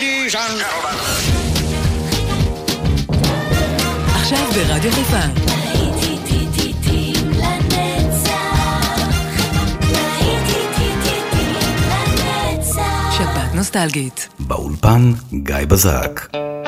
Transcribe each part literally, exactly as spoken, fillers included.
Ladies and gentlemen. עכשיו ברדיו חיפה. שבת נוסטלגית. באולפן גיא בזק.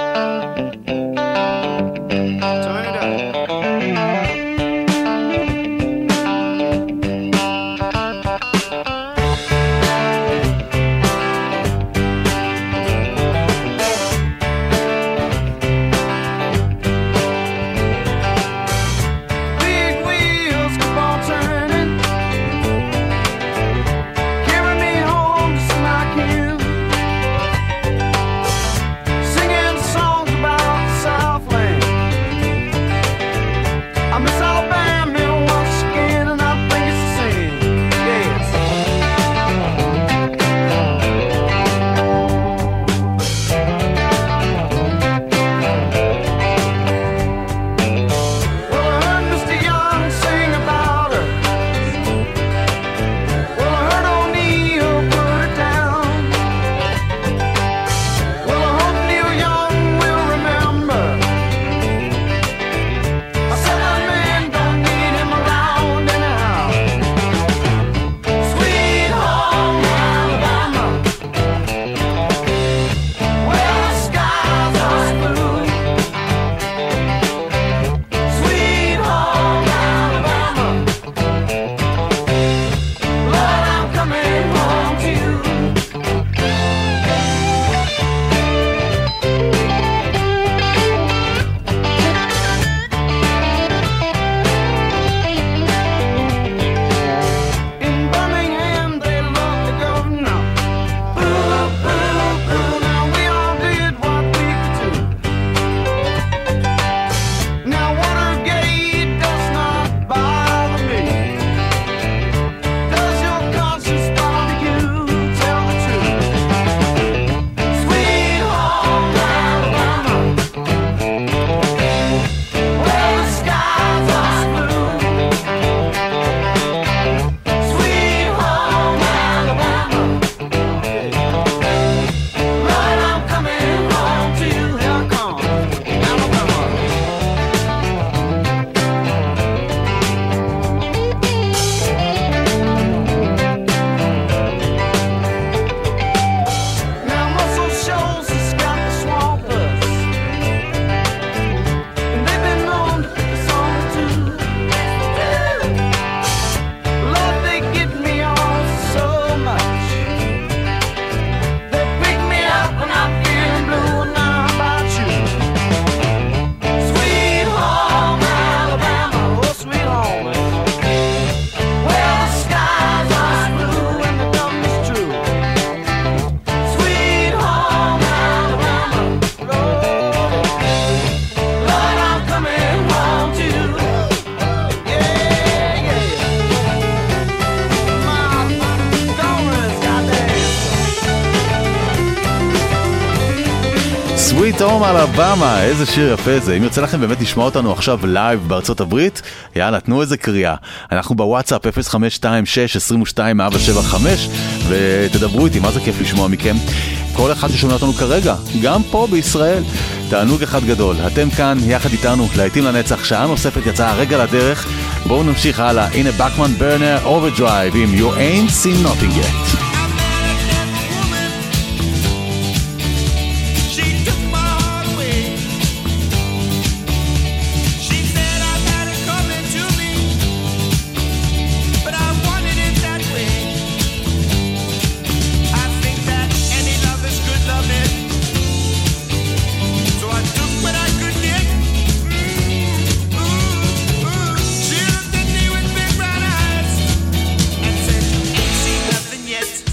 Sweet Home Alabama, איזה שיר יפה זה. אם יוצא לכם באמת לשמוע אותנו עכשיו לייב בארצות הברית, יאללה, תנו איזה קריאה. אנחנו בוואטסאפ אפס חמש שתיים שש עשרים ושתיים ארבע שבע חמש, ותדברו איתי, מה זה כיף לשמוע מכם. כל אחד ששומע אותנו כרגע, גם פה בישראל, תענוג אחד גדול. אתם כאן יחד איתנו, להיטים לנצח, שעה נוספת יצאה הרגע לדרך. בואו נמשיך הלאה. הנה בקמן ברנר אוברדרייב עם You Ain't Seen Nothing Yet. Yet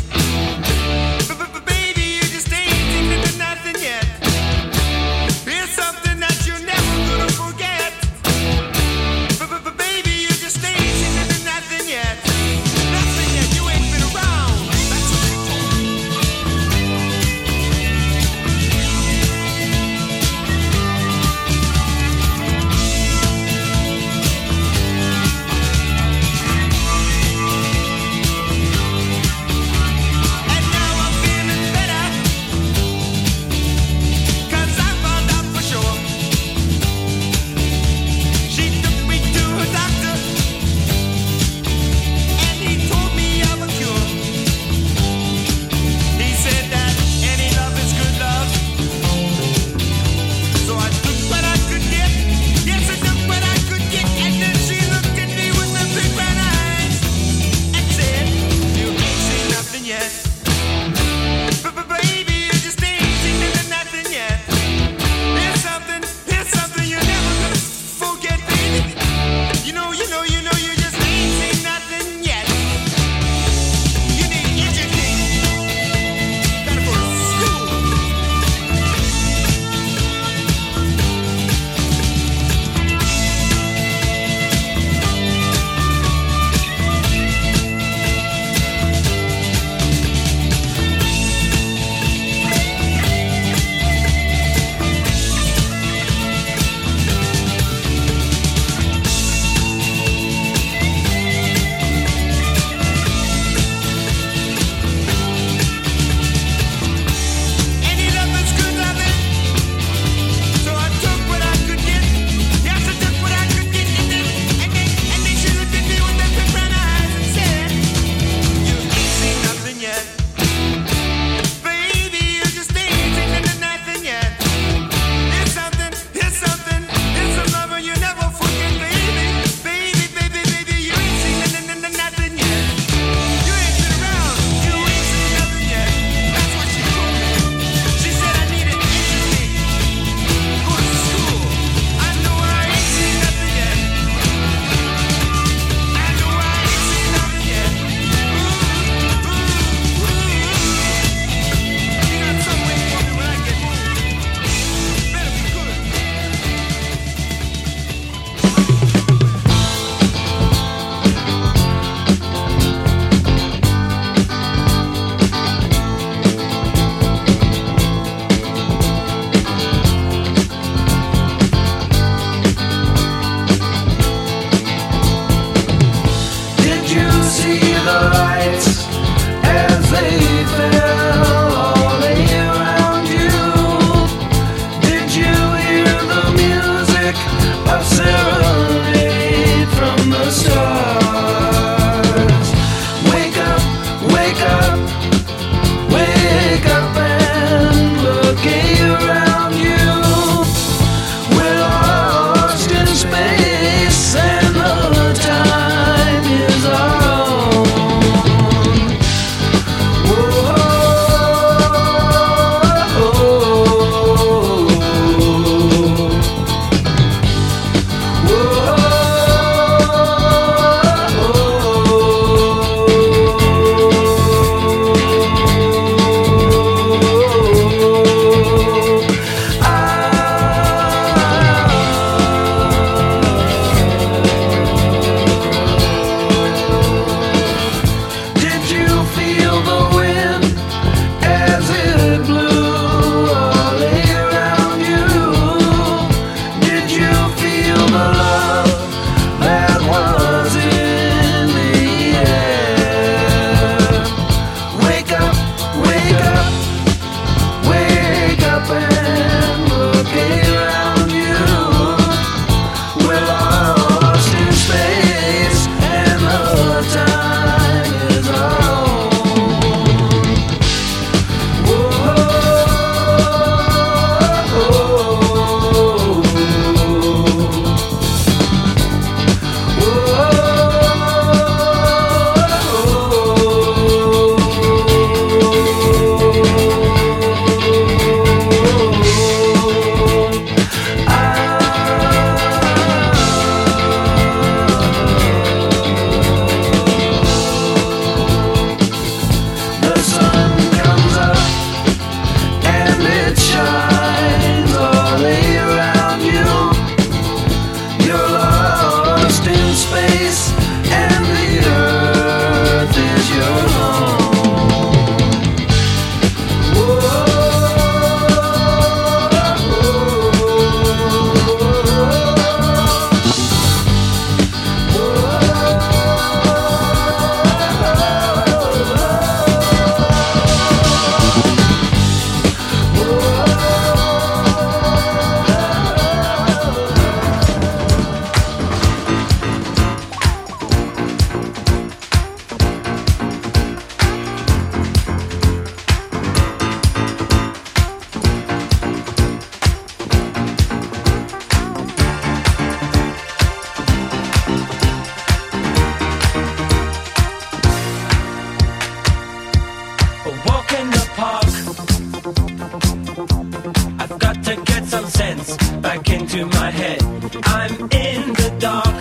some sense back into my head. I'm in the dark,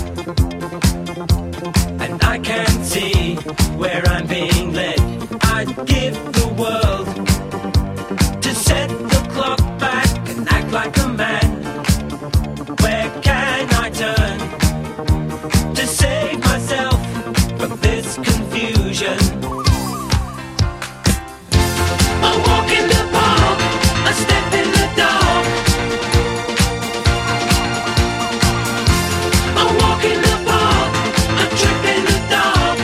and I can't see where I'm being led. I'd give the world to set the clock back and act like a man. Where can I turn to save myself from this confusion? A walk in the park, a step in the dark. A walk in the park, a trip in the dark.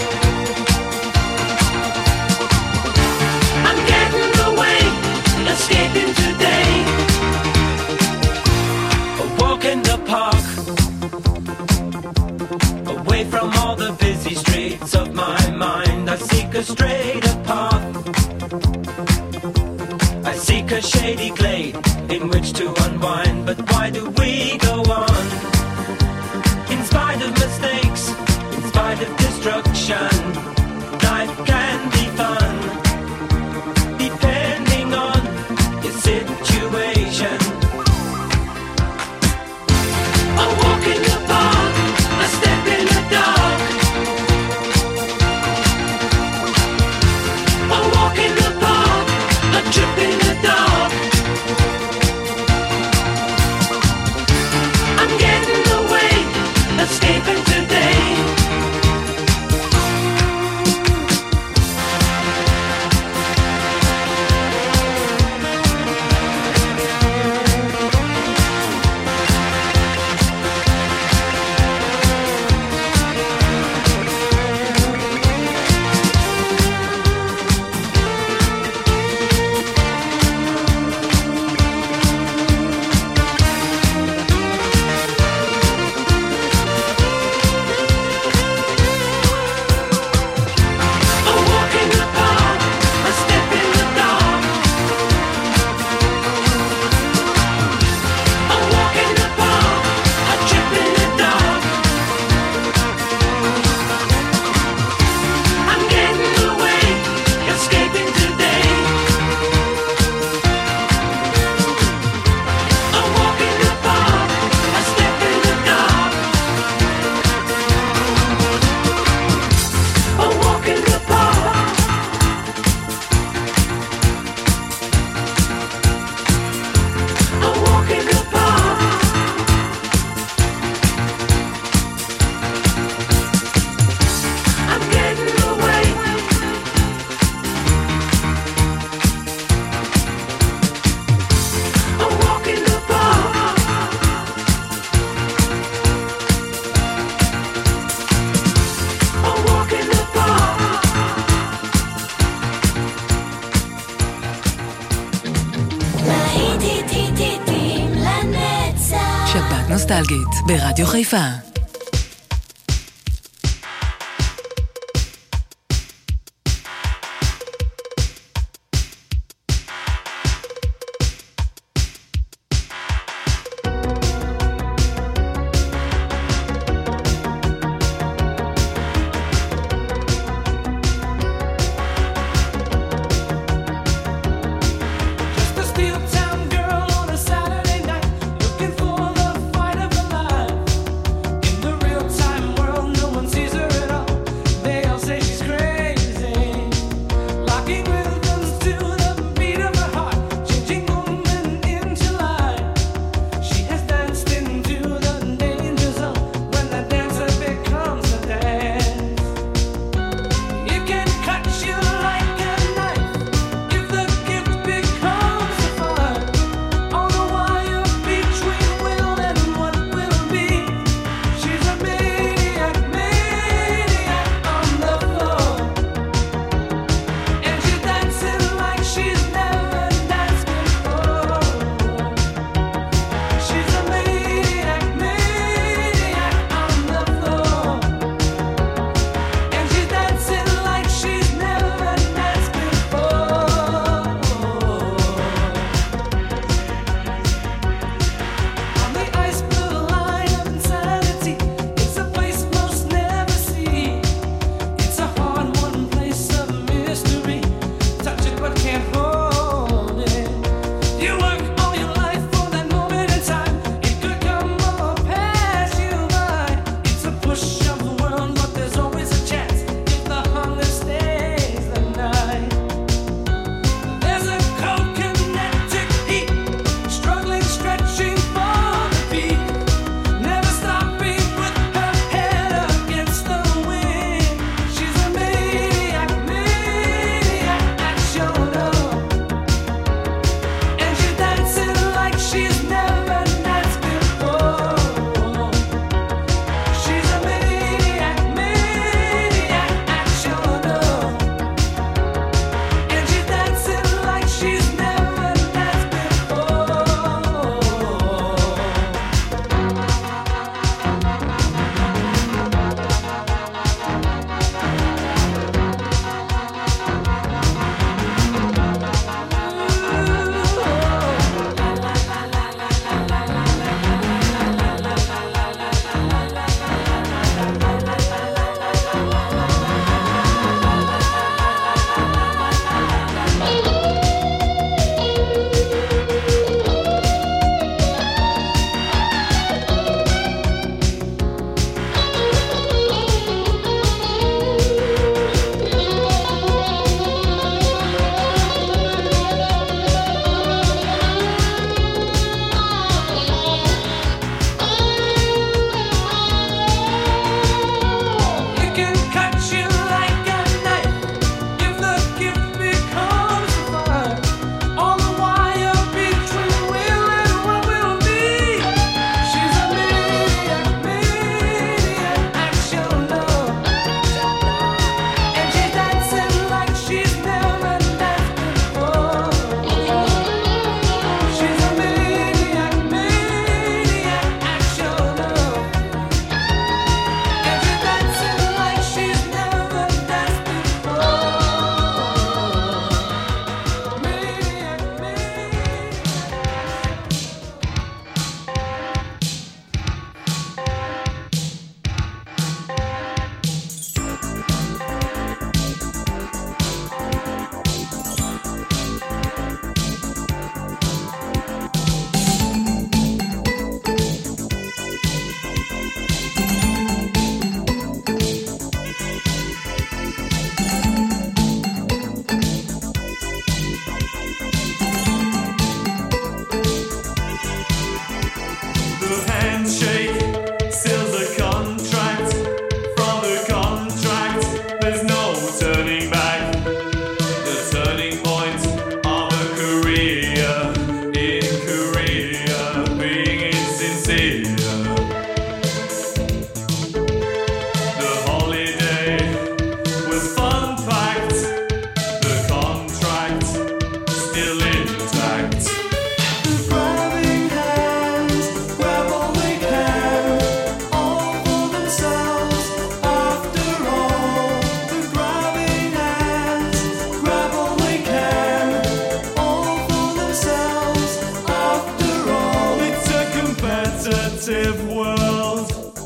I'm getting away, escaping today. A walk in the park, away from all the busy streets of my mind. I seek a straighter path, I seek a shady glade in which to unwind. But why do we go on? In spite of mistakes, in spite of destruction, life can be fun, depending on your situation. A walk in the park, a step in the dark. A walk in the park, a trip in the dark. I'm getting away, escaping today. A walk in the park, a step in the dark. A walk in the park, a trip in the dark. I'm getting away, escaping today. A walk in the park, a step in the dark. A walk in the park. A walk in the park. I'm getting away. A walk in the park. A walk in the park. להיטים לנצח. שבת נוסטלגית ברדיו חיפה. Just a steel town girl on a Saturday night, looking for the fight of her life. fact. The grabbing hands grab all they can, all for themselves. After all, the grabbing hands grab all they can, all for themselves. After all, it's a competitive world.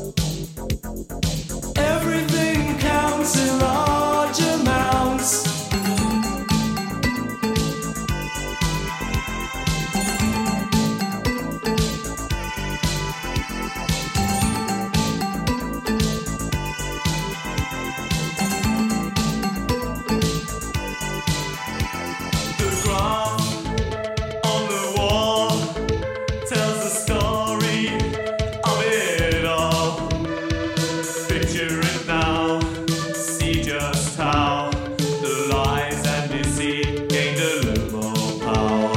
Everything counts in large amounts. The graph on the wall tells the story of it all. Picture it now, see just how the lies and deceit gained a little more power.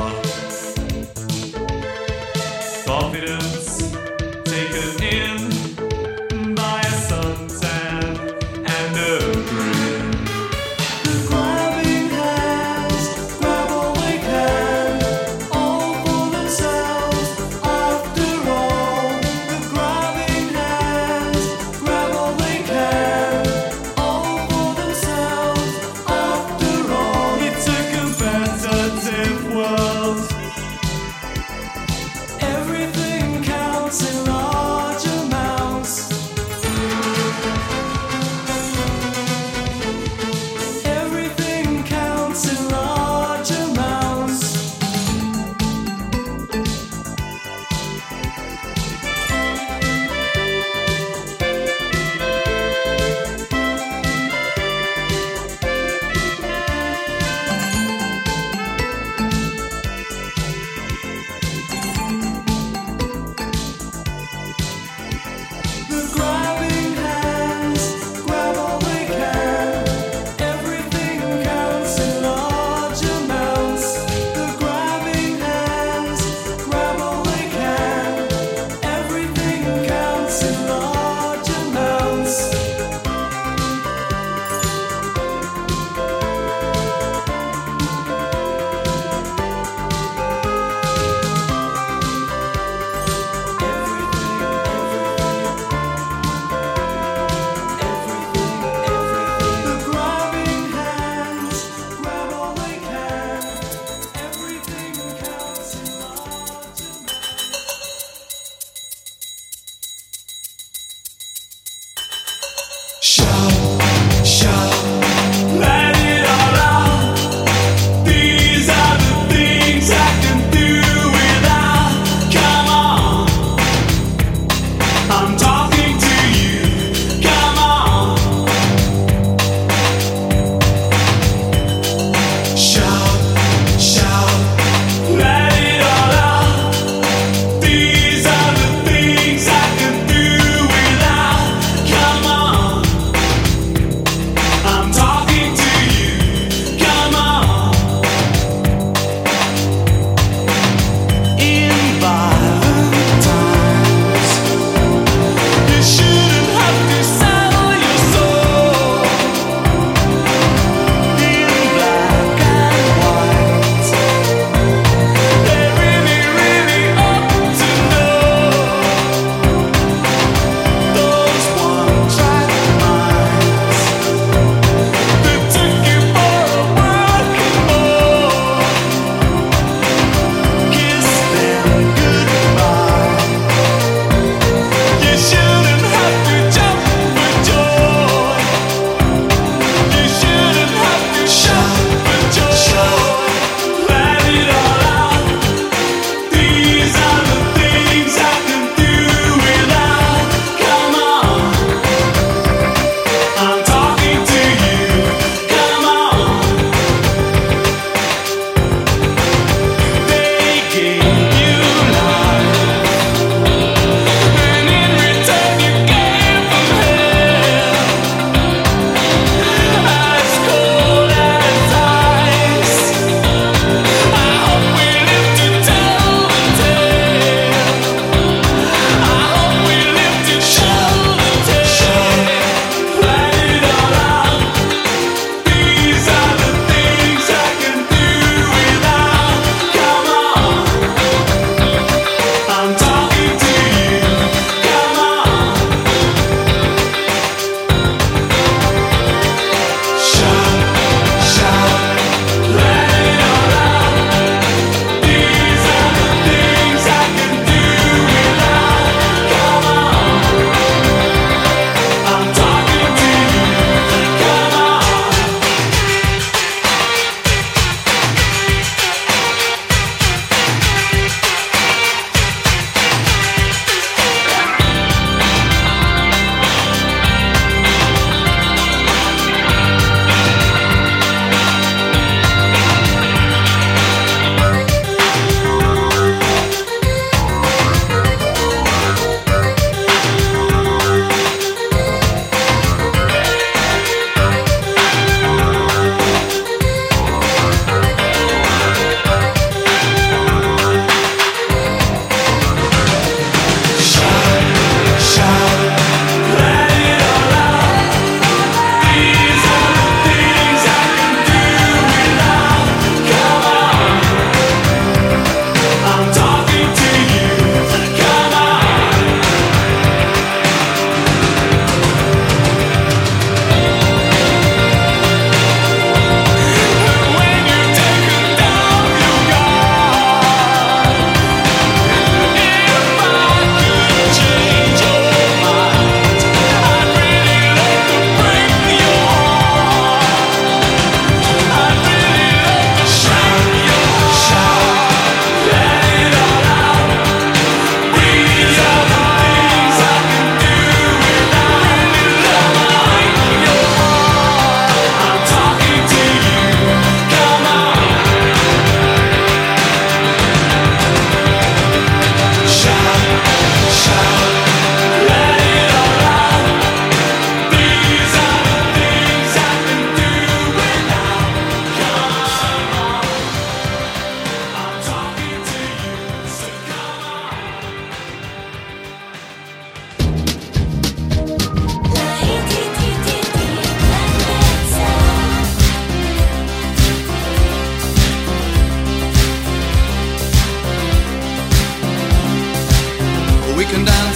Confidence taken in by a suntan and a grin. The grabbing hands grab all they can, all for themselves. After all, the grabbing hands grab all they can, all for themselves. After all, it's a competitive world. Everything counts in large amounts. Everything counts in large amounts.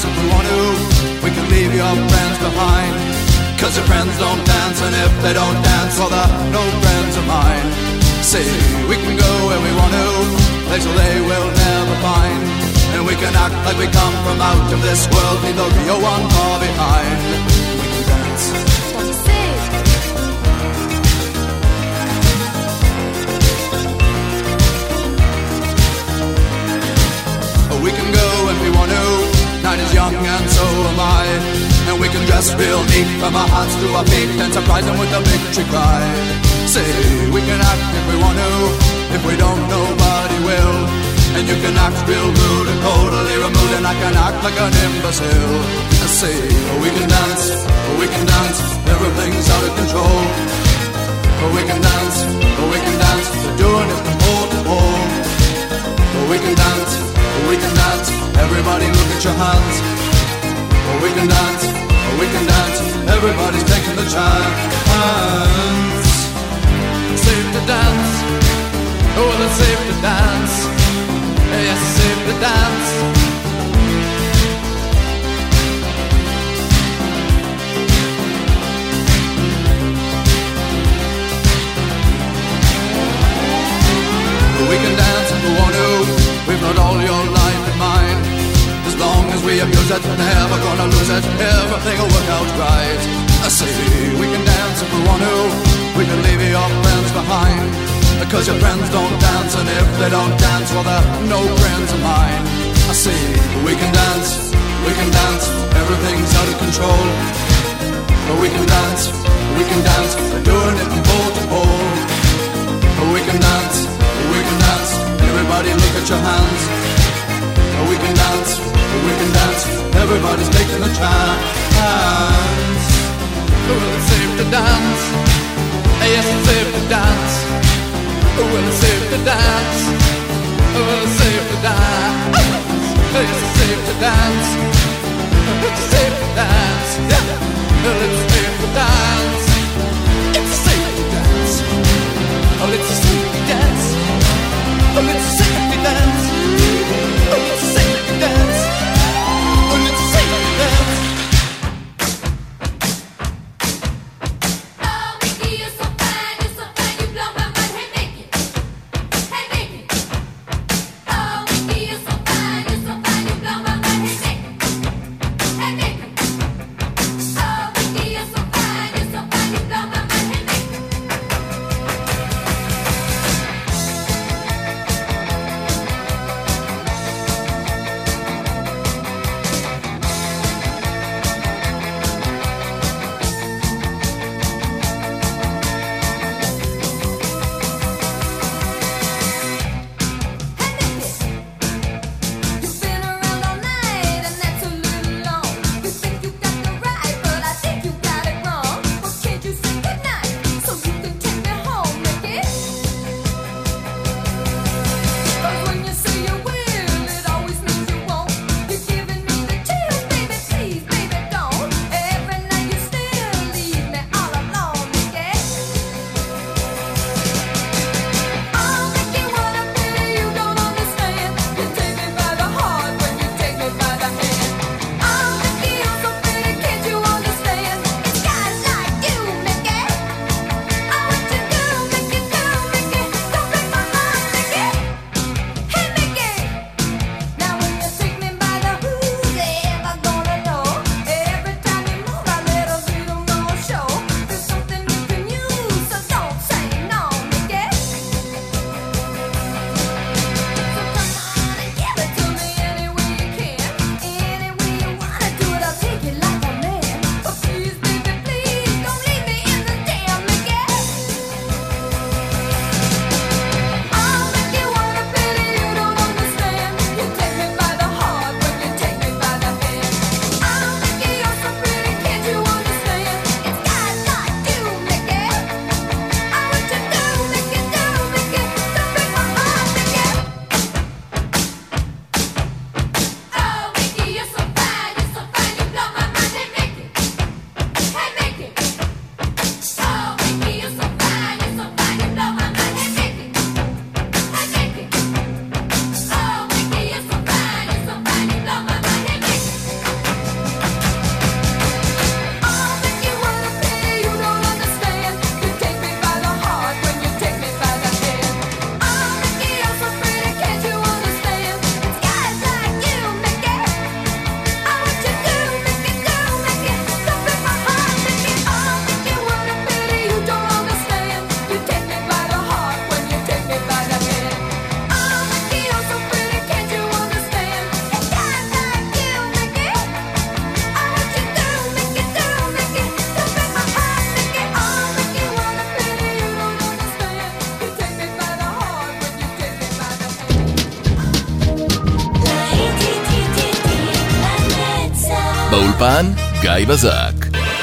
dance if we want to. We can leave your friends behind, 'cause your friends don't dance, and if they don't dance, well they're no friends of mine. See, we can go where we want to, places they will never find, and we can act like we come from out of this world, leave the real one far behind. We can dance. What do you say? We can go if we want to, night is young and so am I, and we can dress real neat from our hearts to our feet and surprise them with a victory cry. Say, we can act if we want to, if we don't nobody will, and you can act real rude and totally removed, and I can act like an imbecile. Say, we can dance, we can dance, everything's out of control. We can dance, we can dance, we're doing it from pole to pole. We can dance, we can dance, everybody look at your hands. We can dance, we can dance, everybody's taking the chance. Safe to dance, oh it's safe to dance. Yes, it's safe to dance. We can dance if we want to, we've got all your life in mind. As long as we abuse it, never gonna lose it, everything will work out right. I say, we can dance if we want to, we can leave your friends behind, because your friends don't dance, and if they don't dance, well they're no friends of mine. I say, we can dance, we can dance, everything's out of control. But we can dance, we can dance, we're doing it from pole to pole. But we can dance, we can dance, everybody look at your hands. We can dance, we can dance, everybody's taking the chance. Well, it's safe to dance, yes it's safe to dance. Well, it's safe to dance, well it's safe to dance. Yes, it's safe to dance, it's safe to dance. Well, it's safe to dance, it's safe to dance. Oh, it's a safety dance. Oh, it's a safety dance. Oh, it's a safety dance. Oh, it's a safety dance. Oh, Mickey, you're so fine, you're so fine, you blow my mind. Hey, Mickey, hey, Mickey, באולפן גיא בזק.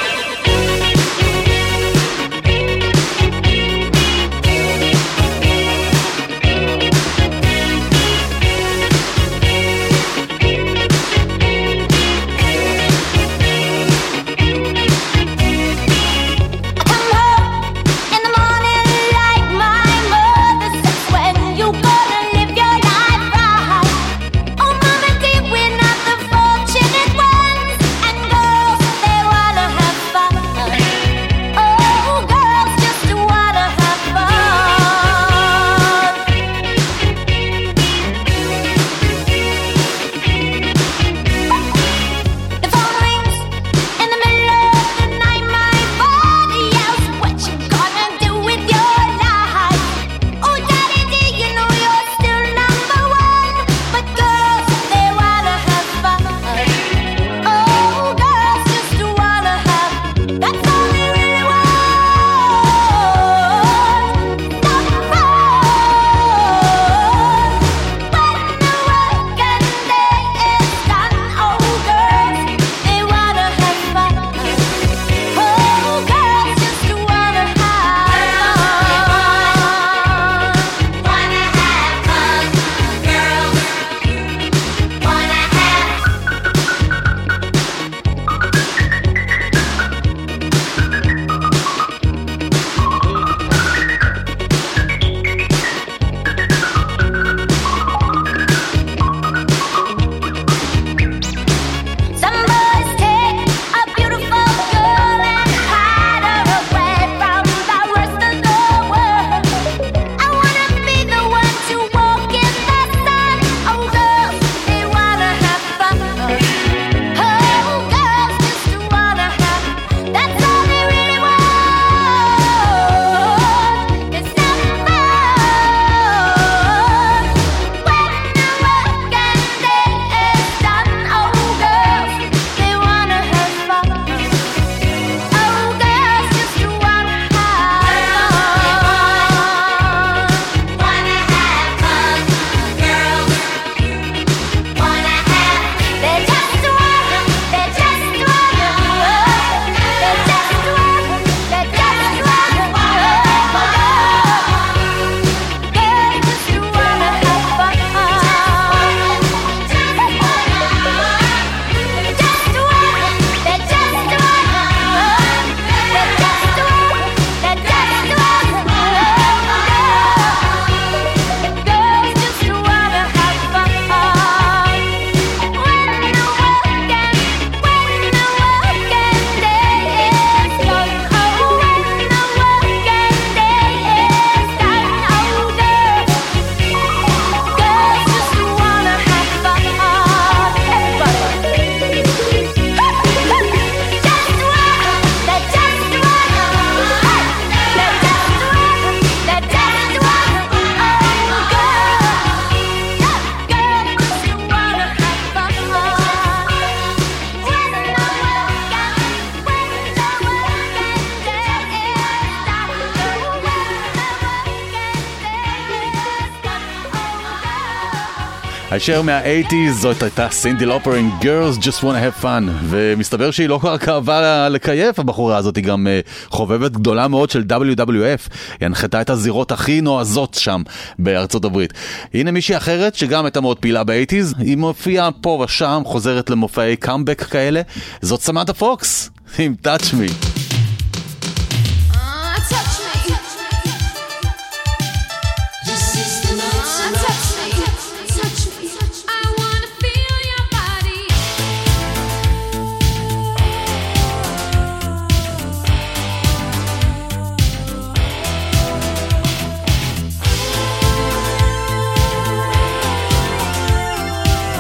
הישר מה-שמונים, זאת הייתה סינדי לופר עם Girls Just Wanna Have Fun, ומסתבר שהיא לא רק אהבה לקייף, הבחורה הזאת היא גם uh, חובבת גדולה מאוד של דאבליו דאבליו אף, היא הנחתה את הזירות הכי נועזות שם בארצות הברית. הנה מישהי אחרת שגם הייתה מאוד פעילה ב-שמונים, היא מופיעה פה ושם, חוזרת למופעי קאמבק כאלה, זאת סמנתה פוקס עם Touch Me.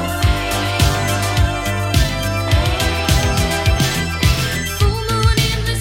Full moon in the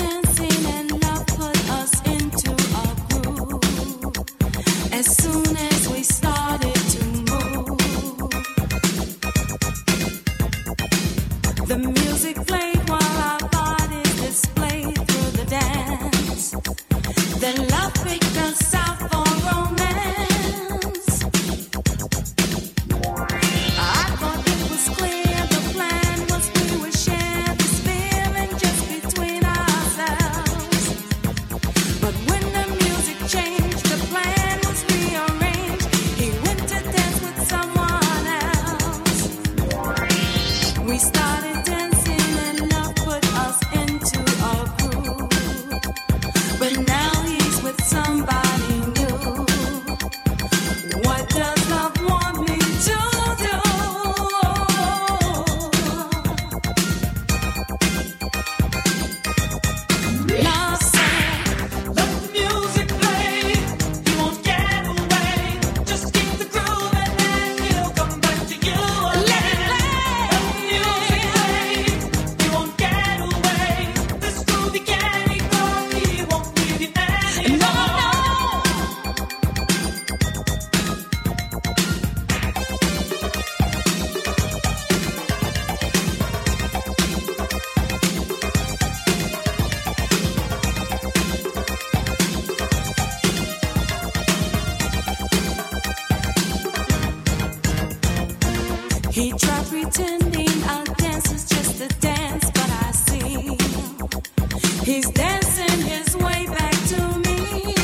He tried pretending our dance is just a dance, but I see he's dancing his way back to me.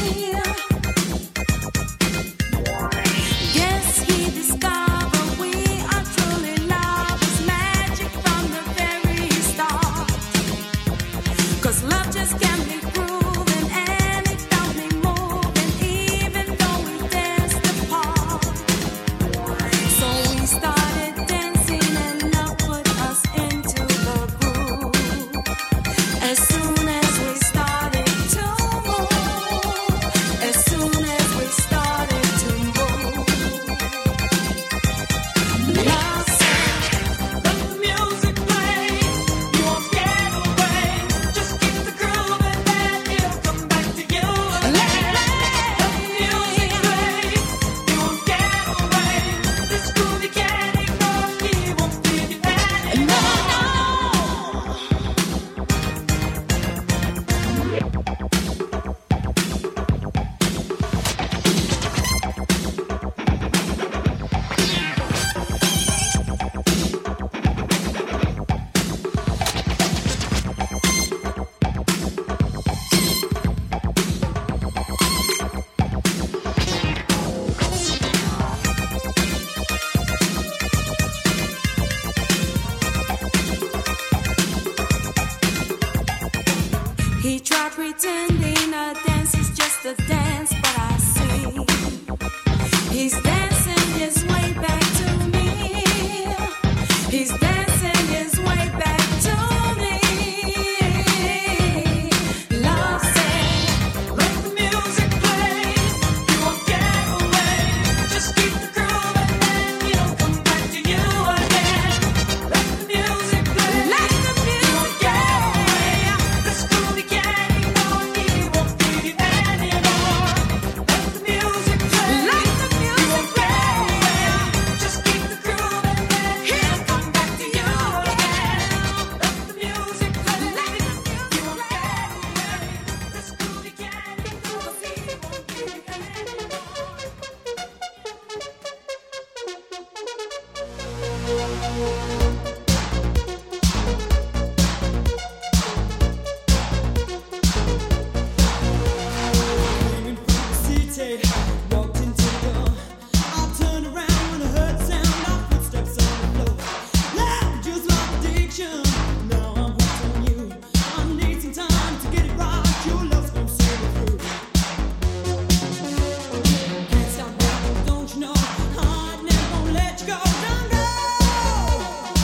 Yes, he discovered we are truly lovers, magic from the very start. 'Cause love just can't be proven, and it don't be moving, even though we danced apart. So we started dancing and love put us into the groove. As soon as we started to move, as soon as we started to move, love said, let the music play. You won't get away. Just keep the groove and then it'll come back to you again. Let the music play. You won't get away. This groove you can't ignore. He won't leave you anymore. He tried pretending a dance is just a dance, but I see he's dancing his way back to me. He's dancing his way back to me. Love said, let the music play. You won't get away. Just keep the groove and then he'll come back to you again. Let the music play. Let the music get away. This groove you can't ignore. He won't leave you anymore. Let the music play. Let the music play. Just keep the groove and then he'll come back to you again. Let the music play. Let the music play. You won't get away. This groove you can't ignore. He won't leave you Coming from the city, walked into the door. I turned around when I heard the sound of footsteps on the floor. Love just like addiction. Now I'm hooked on you. I need some time to get it right. Your love's gonna see me through. Can't stop now, don't you know? I never gonna let you go. Don't go.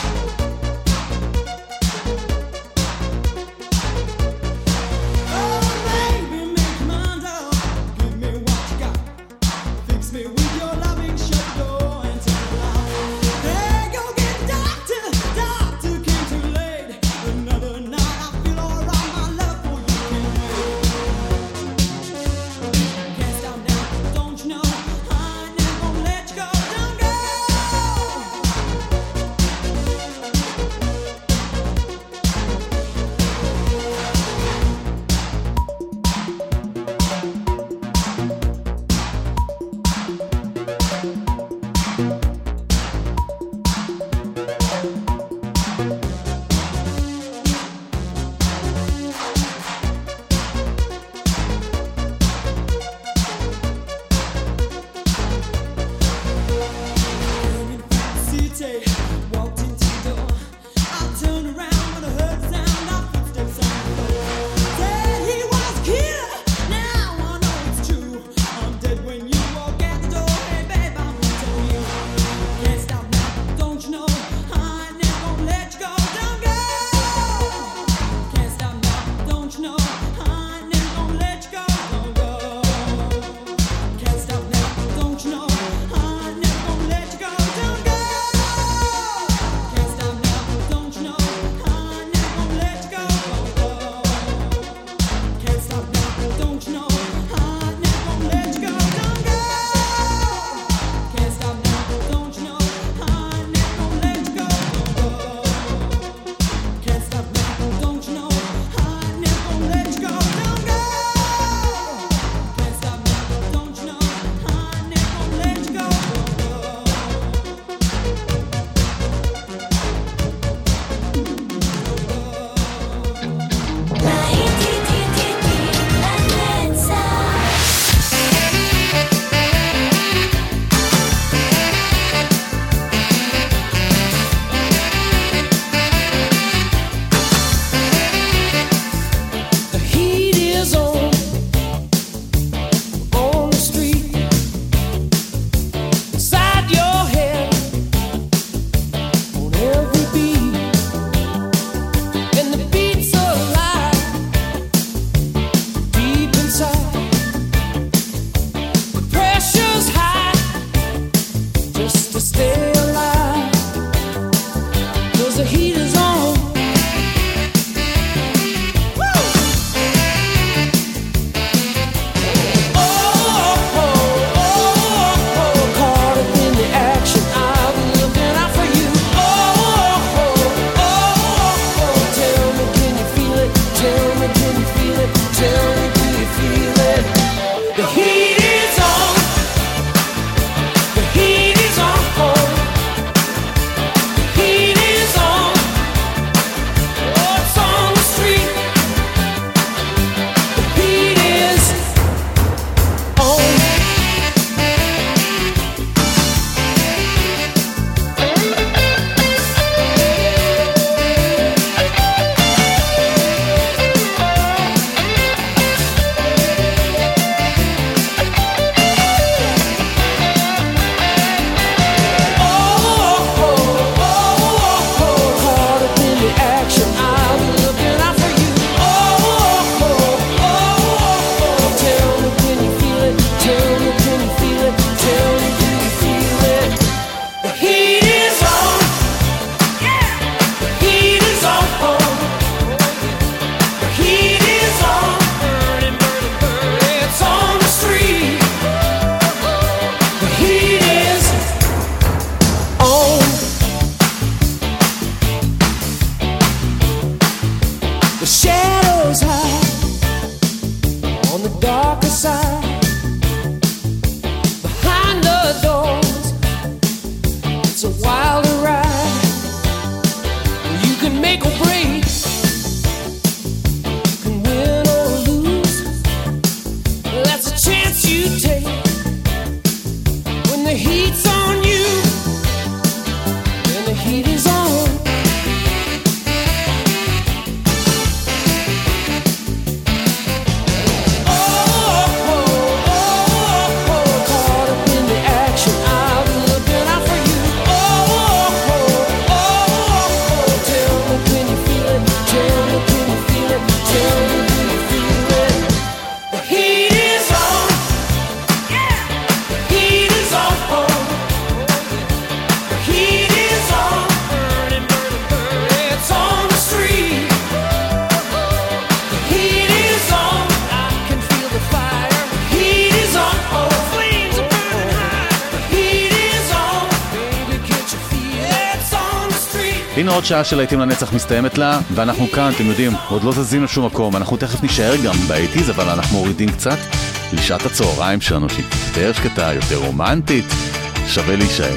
הנה עוד שעה של להיטים לנצח מסתיימת לה, ואנחנו כאן, אתם יודעים, עוד לא זזים לשום מקום. אנחנו תכף נשאר גם באייטיז, אבל אנחנו מורידים קצת לשעת הצהריים שלנו, שהיא יותר שקטה, יותר רומנטית, שווה להישאר.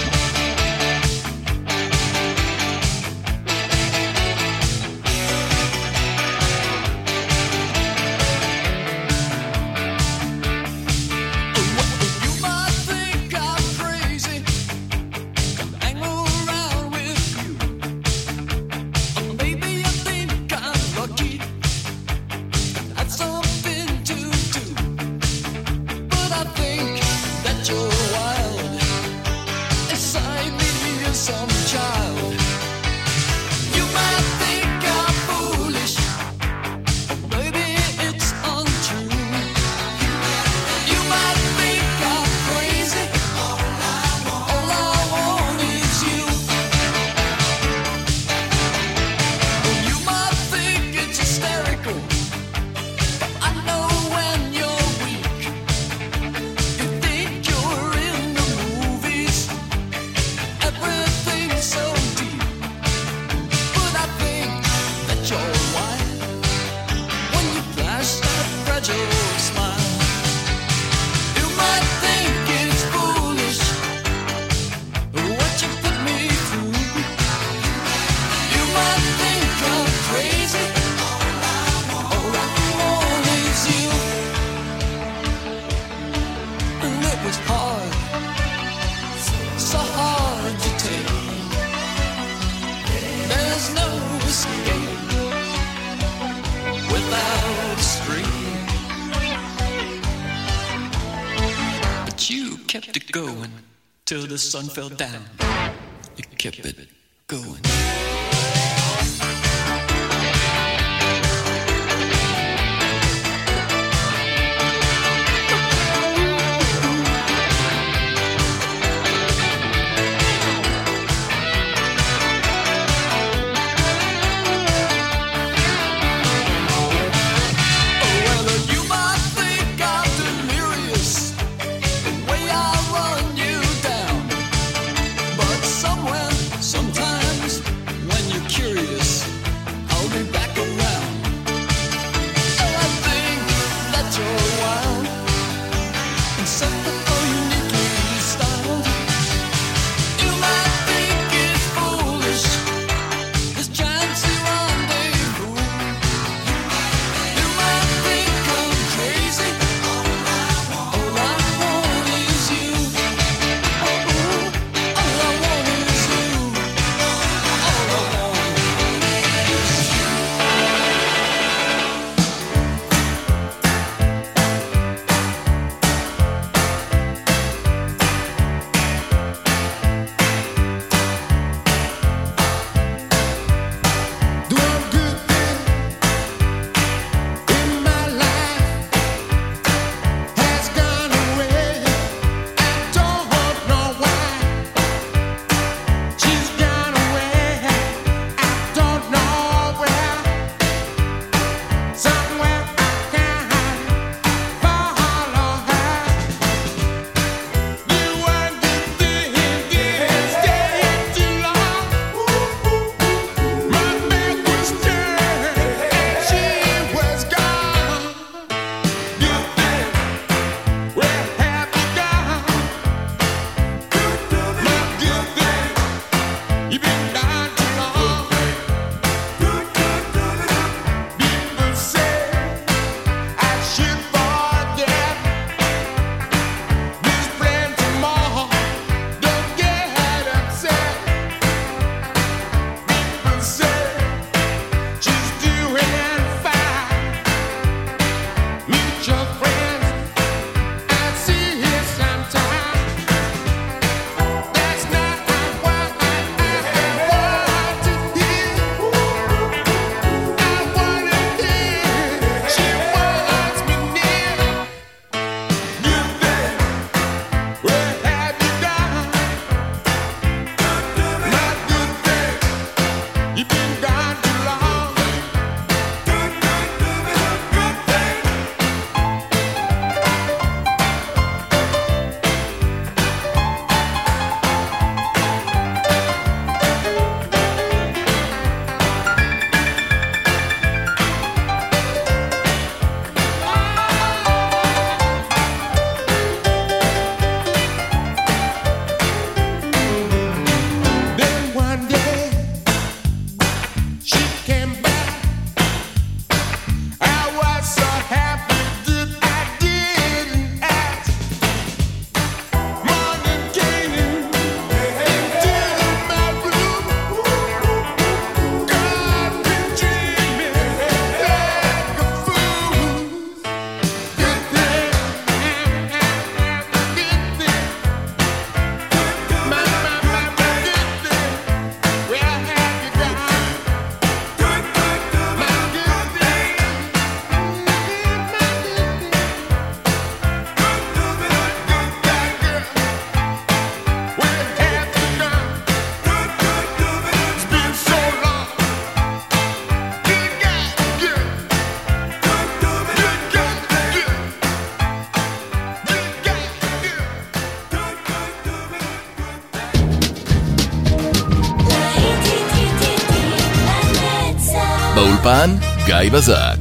Till the sun fell down, you kept it going. Sometimes באולפן גיא בזק.